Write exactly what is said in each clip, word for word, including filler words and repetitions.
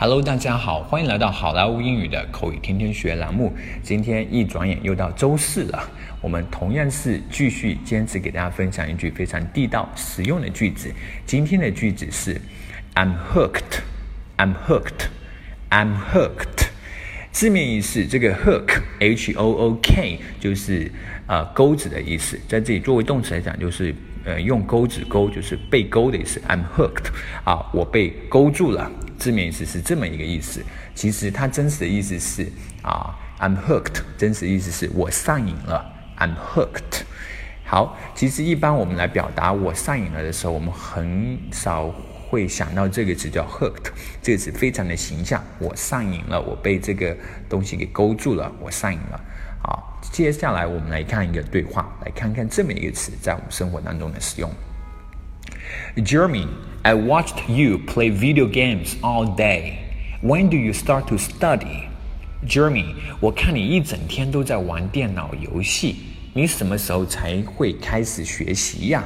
Hello， 大家好，欢迎来到好莱坞英语的口语天天学栏目。今天一转眼又到周四了，我们同样是继续坚持给大家分享一句非常地道实用的句子。今天的句子是 I'm hooked, I'm hooked, I'm hooked。字面意思，这个 hook H O O K 就是呃钩子的意思，在这里作为动词来讲，就是呃用钩子钩，就是被钩的意思。I'm hooked 啊，我被勾住了。字面意思是这么一个意思，其实它真实的意思是啊 ，I'm hooked， 真实的意思是我上瘾了 ，I'm hooked。好，其实一般我们来表达我上瘾了的时候，我们很少会想到这个词叫 hooked， 这个词非常的形象，我上瘾了，我被这个东西给勾住了，我上瘾了。好，接下来我们来看一个对话，来看看这么一个词在我们生活当中的使用。Jeremy, I watched you play video games all day. When do you start to study? Jeremy, 我看你一整天都在玩电脑游戏，你什么时候才会开始学习呀？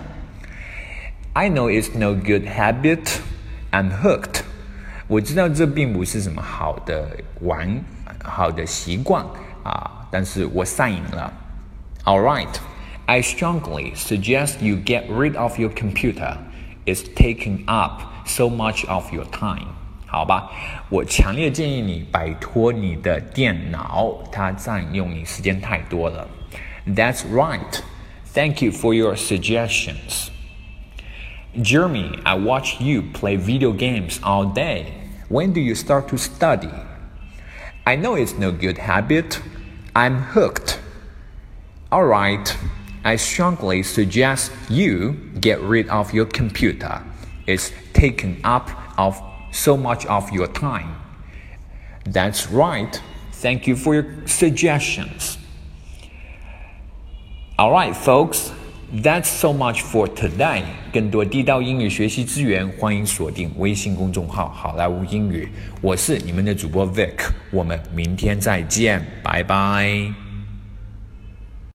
I know it's no good habit. I'm hooked. 我知道这并不是什么好的玩好的习惯啊，但是我上瘾了。All right, I strongly suggest you get rid of your computer.It's taking up so much of your time. 好吧，我强烈建议你摆脱你的电脑，它占用你时间太多了。That's right. Thank you for your suggestions. Jeremy, I watch you play video games all day. When do you start to study? I know it's no good habit. I'm hooked. All right.I strongly suggest you get rid of your computer. It's taken up of so much of your time. That's right. Thank you for your suggestions. All right, folks. That's so much for today. 更多地道英语学习资源，欢迎锁定微信公众号好莱坞英语。我是你们的主播 Vic， 我们明天再见，拜拜。